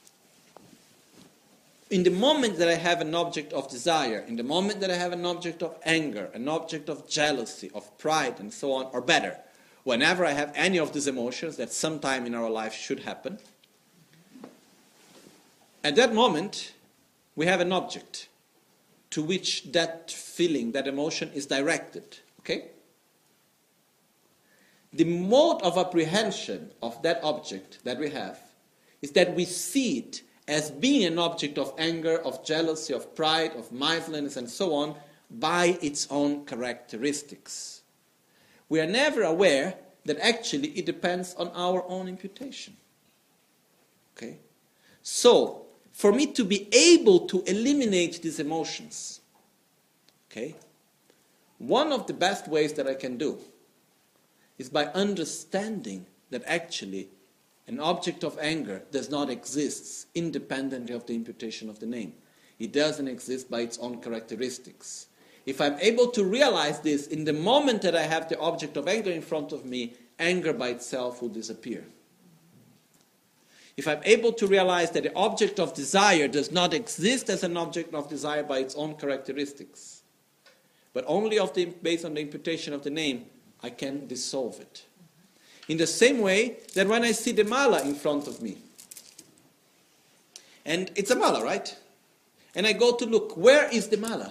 Speaker 2: in the moment that I have an object of desire, in the moment that I have an object of anger, an object of jealousy, of pride, and so on, or better, whenever I have any of these emotions that sometime in our life should happen, at that moment, we have an object to which that feeling, that emotion is directed. Okay? The mode of apprehension of that object that we have is that we see it as being an object of anger, of jealousy, of pride, of mindfulness, and so on, by its own characteristics. We are never aware that actually it depends on our own imputation. Okay? So, for me to be able to eliminate these emotions, okay, one of the best ways that I can do is by understanding that actually an object of anger does not exist independently of the imputation of the name. It doesn't exist by its own characteristics. If I'm able to realize this in the moment that I have the object of anger in front of me, anger by itself will disappear. if I'm able to realize that the object of desire does not exist as an object of desire by its own characteristics, but only of the, based on the imputation of the name, I can dissolve it. In the same way that when I see the mala in front of me, and it's a mala, right? And I go to look, where is the mala?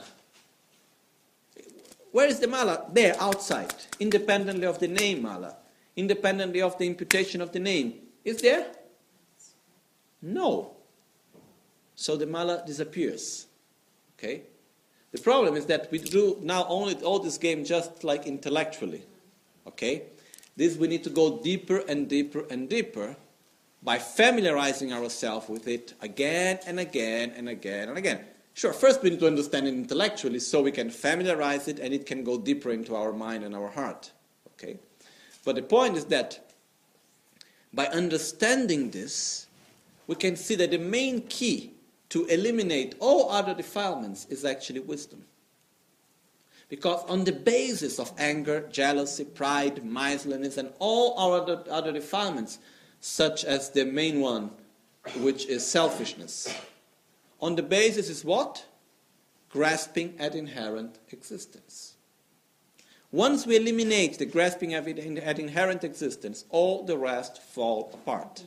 Speaker 2: Where is the mala? There, outside, independently of the name mala, independently of the imputation of the name. Is there? No. So the mala disappears. Okay? The problem is that we do now only all this game just like intellectually. Okay? This we need to go deeper and deeper and deeper by familiarizing ourselves with it again and again and again and again. Sure, first we need to understand it intellectually so we can familiarize it and it can go deeper into our mind and our heart. Okay? But the point is that by understanding this, we can see that the main key to eliminate all other defilements is actually wisdom. Because on the basis of anger, jealousy, pride, miserliness, and all our other, other defilements, such as the main one, which is selfishness, on the basis is what? Grasping at inherent existence. Once we eliminate the grasping at inherent existence, all the rest fall apart.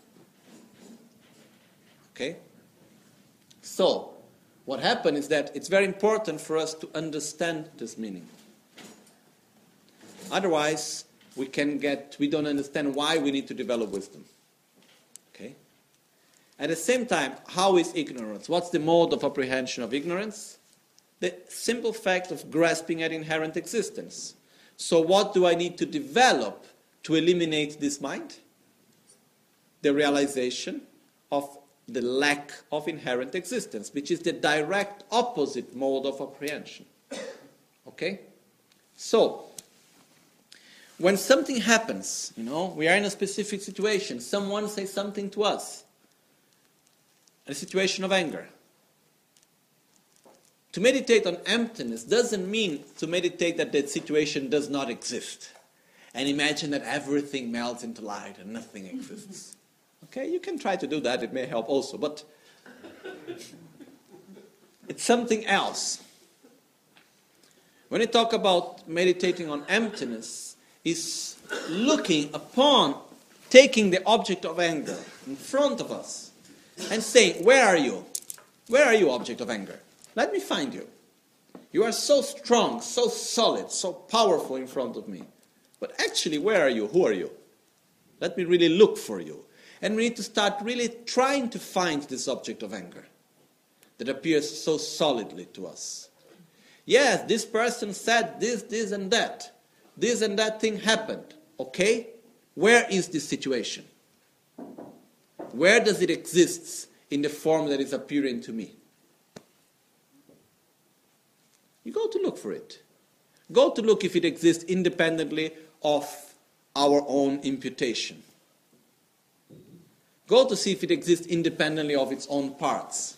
Speaker 2: Okay? So, what happened is that it's very important for us to understand this meaning. Otherwise, we can get, we don't understand why we need to develop wisdom. Okay? At the same time, how is ignorance? What's the mode of apprehension of ignorance? The simple fact of grasping at inherent existence. So what do I need to develop to eliminate this mind? The realization of the lack of inherent existence, which is the direct opposite mode of apprehension. Okay? So, when something happens, you know, we are in a specific situation, someone says something to us, a situation of anger. To meditate on emptiness doesn't mean to meditate that that situation does not exist and imagine that everything melts into light and nothing exists. Okay, you can try to do that, it may help also, but it's something else. When I talk about meditating on emptiness, is looking upon, taking the object of anger in front of us and saying, where are you? Where are you, object of anger? Let me find you. You are so strong, so solid, so powerful in front of me. But actually, where are you? Who are you? Let me really look for you. And we need to start really trying to find this object of anger that appears so solidly to us. Yes, this person said this, this, and that. This and that thing happened. Okay? Where is this situation? Where does it exist in the form that is appearing to me? You go to look for it. Go to look if it exists independently of our own imputation. Go to see if it exists independently of its own parts.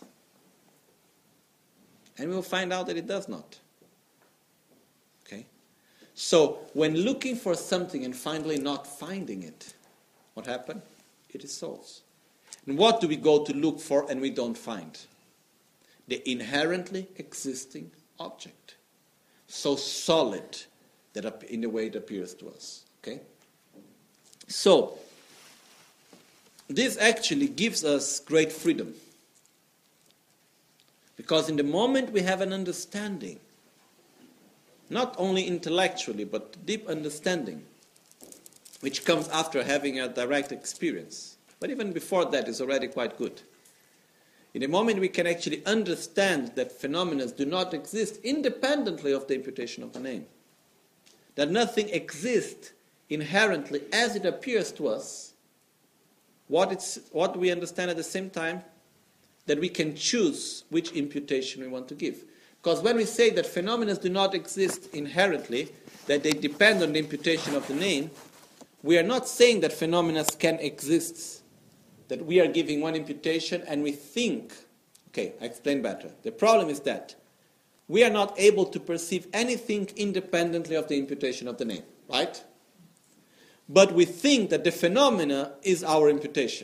Speaker 2: And we'll find out that it does not. Okay? So, when looking for something and finally not finding it, what happened? It dissolves. And what do we go to look for and we don't find? The inherently existing object. So solid that in the way it appears to us. Okay? So, this actually gives us great freedom. Because in the moment we have an understanding, not only intellectually, but deep understanding, which comes after having a direct experience, but even before that is already quite good. In the moment we can actually understand that phenomena do not exist independently of the imputation of the name, that nothing exists inherently as it appears to us, what, it's, what we understand at the same time, that we can choose which imputation we want to give. Because when we say that phenomena do not exist inherently, that they depend on the imputation of the name, we are not saying that phenomena can exist, that we are giving one imputation and we think, okay, I explain better. The problem is that we are not able to perceive anything independently of the imputation of the name, right? But we think that the phenomena is our imputation.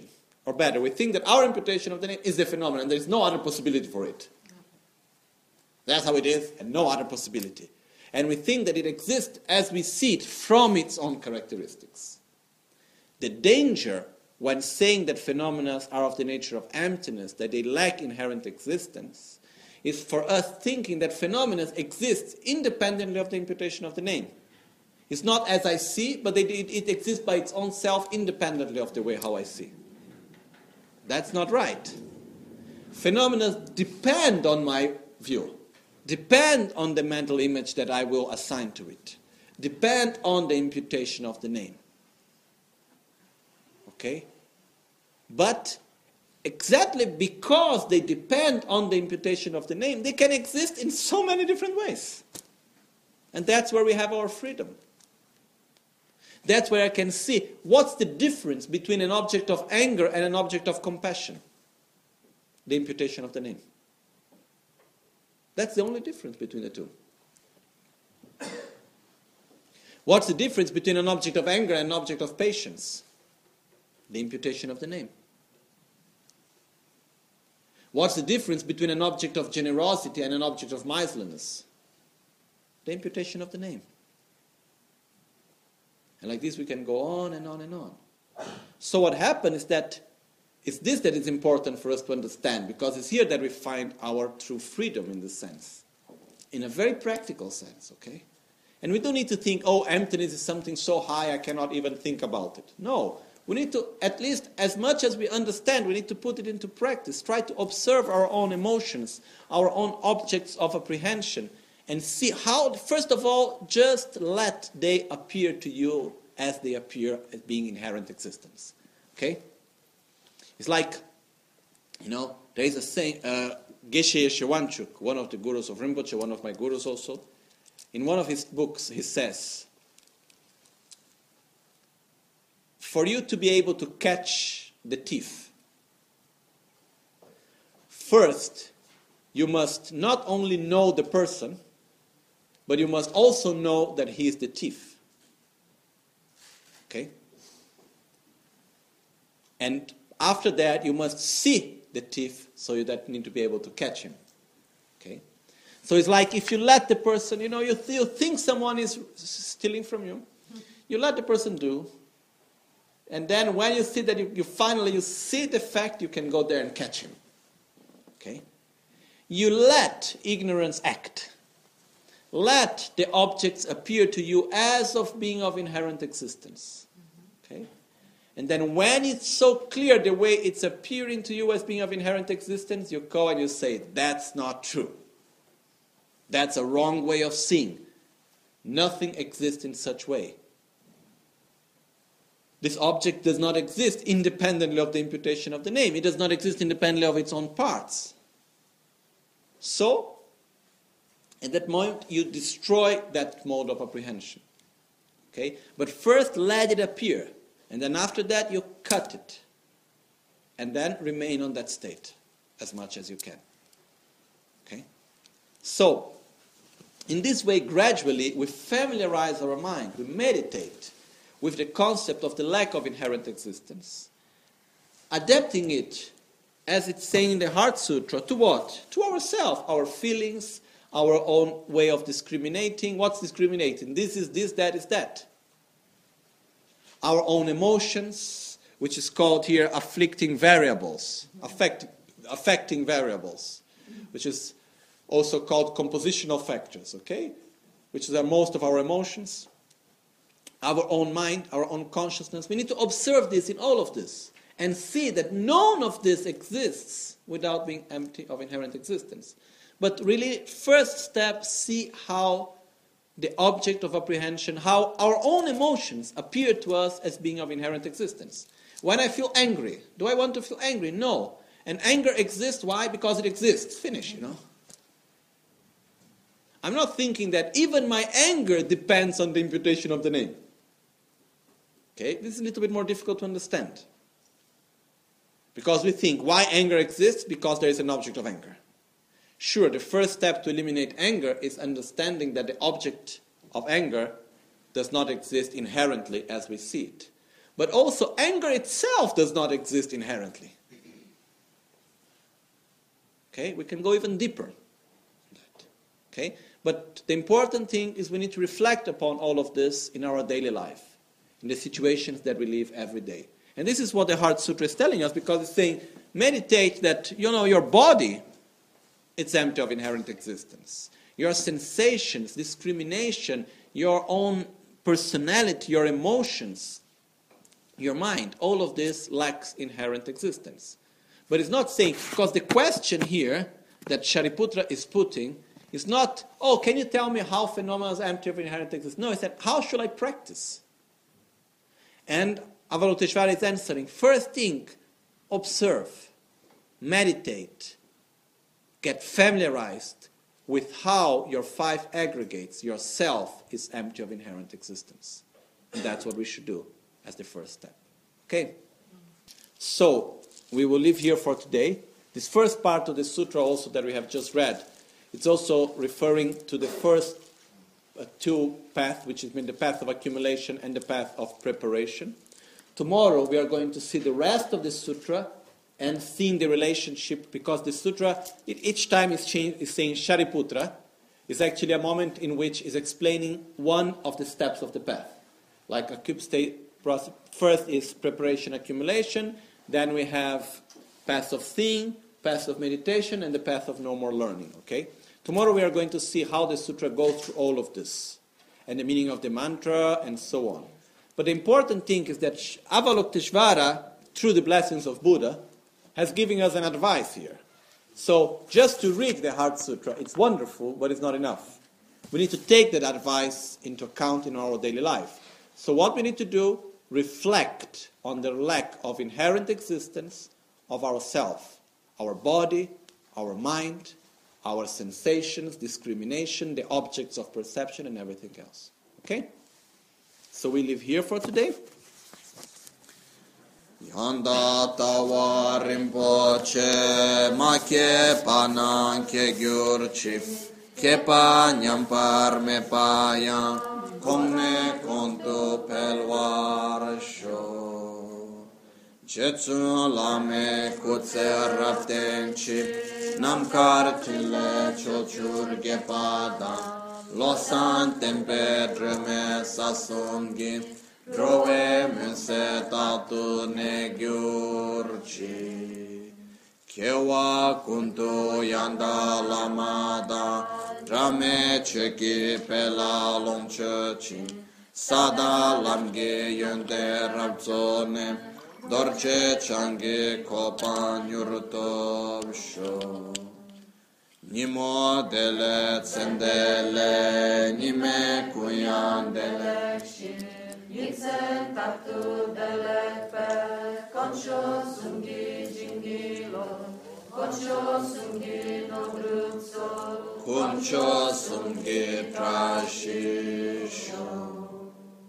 Speaker 2: Or better, we think that our imputation of the name is the phenomenon. There is no other possibility for it. That's how it is, and no other possibility. And we think that it exists as we see it from its own characteristics. The danger when saying that phenomena are of the nature of emptiness, that they lack inherent existence, is for us thinking that phenomena exist independently of the imputation of the name. It's not as I see, but it, it, it exists by its own self independently of the way how I see. That's not right. Phenomena depend on my view, depend on the mental image that I will assign to it, depend on the imputation of the name. Okay? But exactly because they depend on the imputation of the name, they can exist in so many different ways. And that's where we have our freedom. That's where I can see what's the difference between an object of anger and an object of compassion. The imputation of the name. That's the only difference between the two. What's the difference between an object of anger and an object of patience? The imputation of the name. What's the difference between an object of generosity and an object of miserliness? The imputation of the name. And like this we can go on and on and on. So what happened is that it's this that is important for us to understand, because it's here that we find our true freedom in this sense. In a very practical sense, okay? And we don't need to think, oh, emptiness is something so high I cannot even think about it. No. We need to, at least as much as we understand, we need to put it into practice. Try to observe our own emotions, our own objects of apprehension, and see how, first of all, just let they appear to you as they appear as being inherent existence. Okay? It's like, you know, there is a saying, uh, Geshe Shewanchuk, one of the gurus of Rinpoche, one of my gurus also, in one of his books, he says, for you to be able to catch the thief, first, you must not only know the person, but you must also know that he is the thief. Okay? And after that, you must see the thief, so you that need to be able to catch him. Okay? So it's like if you let the person, you know, you, th- you think someone is stealing from you, you let the person do, and then when you see that you, you finally you see the fact, you can go there and catch him. Okay? You let ignorance act. Let the objects appear to you as of being of inherent existence. Okay? And then when it's so clear the way it's appearing to you as being of inherent existence, you go and you say, that's not true. That's a wrong way of seeing. Nothing exists in such way. This object does not exist independently of the imputation of the name. It does not exist independently of its own parts. So, at that moment, you destroy that mode of apprehension. Okay? But first, let it appear. And then after that, you cut it. And then remain on that state as much as you can. Okay? So, in this way, gradually, we familiarize our mind. We meditate with the concept of the lack of inherent existence. Adapting it, as it's saying in the Heart Sutra, to what? To ourselves, our feelings, our own way of discriminating. What's discriminating? This is this, that is that. Our own emotions, which is called here afflicting variables, affect, affecting variables, which is also called compositional factors, okay? Which are most of our emotions, our own mind, our own consciousness. We need to observe this in all of this and see that none of this exists without being empty of inherent existence. But really, first step, see how the object of apprehension, how our own emotions appear to us as being of inherent existence. When I feel angry, do I want to feel angry? No. And anger exists, why? Because it exists. Finish, you know. I'm not thinking that even my anger depends on the imputation of the name. Okay, this is a little bit more difficult to understand. Because we think, why anger exists? Because there is an object of anger. Sure, the first step to eliminate anger is understanding that the object of anger does not exist inherently as we see it. But also anger itself does not exist inherently. Okay, we can go even deeper. Okay, but the important thing is we need to reflect upon all of this in our daily life, in the situations that we live every day. And this is what the Heart Sutra is telling us, because it's saying, meditate that, you know, your body, it's empty of inherent existence. Your sensations, discrimination, your own personality, your emotions, your mind, all of this lacks inherent existence. But it's not saying, because the question here that Shariputra is putting is not, oh, can you tell me how phenomena is empty of inherent existence? No, he said, how should I practice? And Avalokiteshvara is answering, first thing, observe, meditate, get familiarized with how your five aggregates, your self, is empty of inherent existence. And that's what we should do as the first step. Okay? So, we will leave here for today. This first part of the sutra also that we have just read, it's also referring to the first uh, two paths, which has been the path of accumulation and the path of preparation. Tomorrow we are going to see the rest of the sutra and seeing the relationship, because the sutra, it, each time is, change, is saying Shariputra, is actually a moment in which is explaining one of the steps of the path. Like a cube state process. First is preparation, accumulation, then we have path of seeing, path of meditation, and the path of no more learning. Okay? Tomorrow we are going to see how the sutra goes through all of this, and the meaning of the mantra, and so on. But the important thing is that Avalokiteshvara, through the blessings of Buddha, has given us an advice here. So, just to read the Heart Sutra, it's wonderful, but it's not enough. We need to take that advice into account in our daily life. So what we need to do, reflect on the lack of inherent existence of ourself, our body, our mind, our sensations, discrimination, the objects of perception, and everything else. Okay? So we leave here for today.
Speaker 1: Yanda tawa rinpoche ma ke panan ke gyurchi ke pa nyampar me pa yan kongne konto pelwar sho jetsu lame kutse raptenchi namkar tile chochur ge pada losan tempe dreme sasongi Drove mense tatu ne gyurchi Kewa kuntu yanda lamada Drame cheki pela longchechi Sada lamge yonde rabzone Dorche changi kopan yurtovsho Nimo dele tsendele Nime kuyandele
Speaker 6: Nixen tatu delepe, concho sungi jingilo, concho sungi no bruzzo,
Speaker 1: concho sungi trashisho.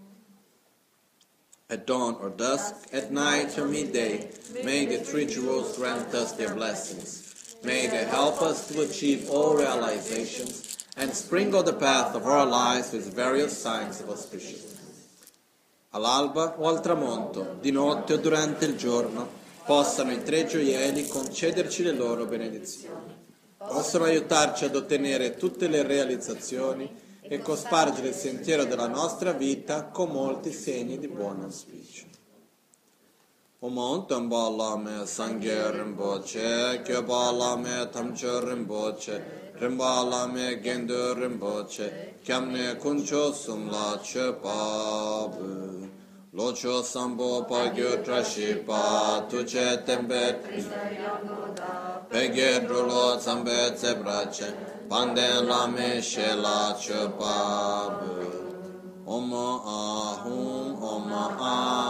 Speaker 1: At dawn or dusk, at night or midday, may the three jewels grant us their blessings. May they help us to achieve all realizations and sprinkle the path of our lives with various signs of auspiciousness. All'alba o al tramonto, di notte o durante il giorno, possano i tre gioielli concederci le loro benedizioni. Possono aiutarci ad ottenere tutte le realizzazioni e cospargere il sentiero della nostra vita con molti segni di buon auspicio. Om Tamba Lame Sangye Rinpoche, Kyoba Lame Tamche Rinpoche, Rimba Lame Gendo Rinpoche, Kyamne Kuncho Sumla Chepabu. Locho Sambo Pagyo Trashipa, Tuce Tembe Pegye Drulo Zambe Zebrace, Panden Lame Shela Chepabu. Om Ahum, Om Ah.